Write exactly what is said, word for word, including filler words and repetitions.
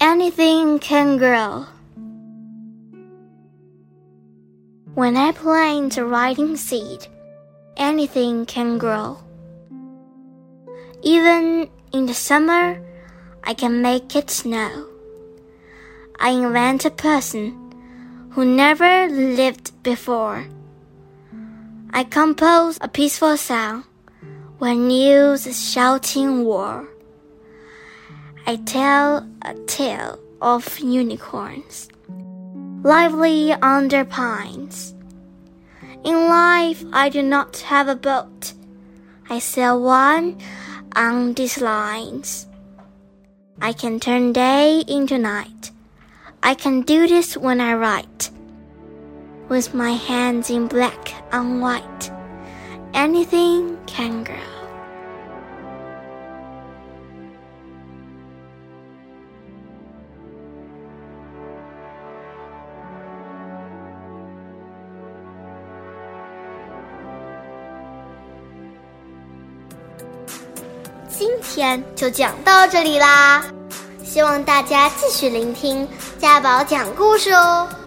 Anything can grow. When I plant a writing seed, anything can grow. Even in the summer, I can make it snow. I invent a person who never lived before. I compose a peaceful sound when news is shouting war. I tell a tale of unicorns, lively under pines. In life, I do not have a boat. I sail one on these lines. I can turn day into night. I can do this when I write. With my hands in black on white, anything can grow. 今天就讲到这里啦，希望大家继续聆听家宝讲故事哦。